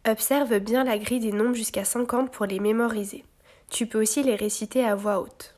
Observe bien la grille des nombres jusqu'à 50 pour les mémoriser. Tu peux aussi les réciter à voix haute.